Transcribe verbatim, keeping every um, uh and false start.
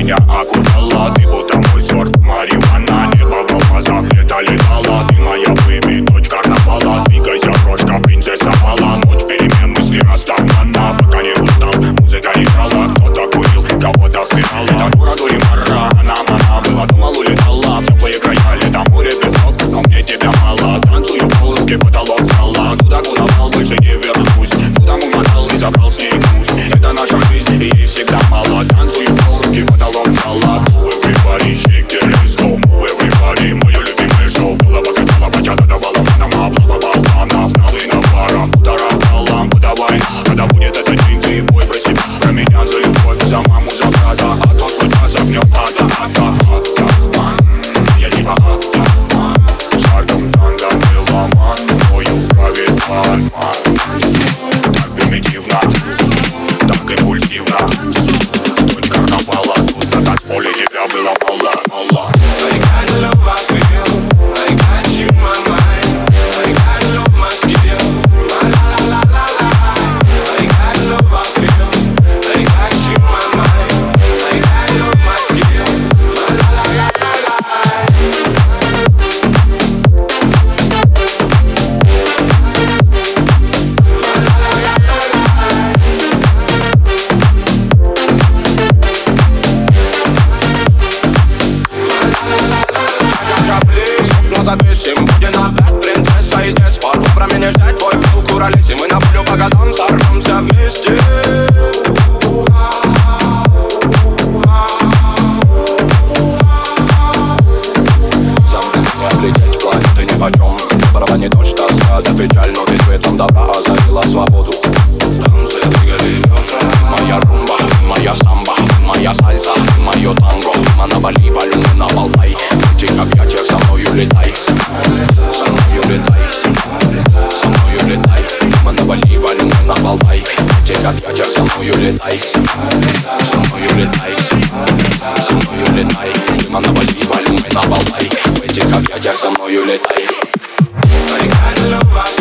меня окутала. Ты будто мой сорт марихуана. Небо в глазах, лето летало. Ты моя бэби, дочь карнавала. Двигайся, крошка, принцесса Мала. Ночь перемен, мысли расставана. Пока не устал, музыка играла. Кто-то курил, кого-то впирал. Это город Уримара, она мана. Была, думал, улетала в теплые края. Лето, море, песок, но мне тебя мало. Танцую в полруки, потолок зала. Туда, куда вал, больше не вернусь. Куда умотал и забрал с ней вкус. Это наша жизнь, и ей всегда мало. Танцую в полруки, потолок зала. Move everybody, shake it, let's go. Move everybody, мое любимое шоу. Было покатала, бачата давала манам. Облава баланов, налы на парах. Удара балам, подавай. Когда будет этот день, ты бой про себя. Про меня за любовь, за маму, за брата. А то судьба загнет ада, ада, ада. Я типа ада. Шагом танго меломан. Тобою правит ман. Так примитивно, так импульсивно. Дочь карнавала, тут на танцполе тебя было мало, мало. I got love, I feel. I got you in my mind. I got love, my skill. La la la la la la. I got love, I feel. I got you in my mind. I got love, my skill. La la la la la la. Запишем, будем опять принцесса и деспот. Про меня взять твой пыл, куролесим. Мы на полю по годам сорвемся вместе. Сам ты не облететь, планеты нипочем. Барабанит дождь, тоска да печаль, но ты светом добра озарила свободу. В танце двигали ветра. Моя румба, моя самба, моя сальса, мое танго. Мы на Бали, валюны на Болтай. В этих объятиях со мною летай. Со мною летай. Со мною летай. Мы на Бали, валюны на Болтай. В этих объятиях со мною летай. Со мною летай. Со мною летай. Мы на Бали, валюны на Болтай. В этих объятиях со мною летай. I got love,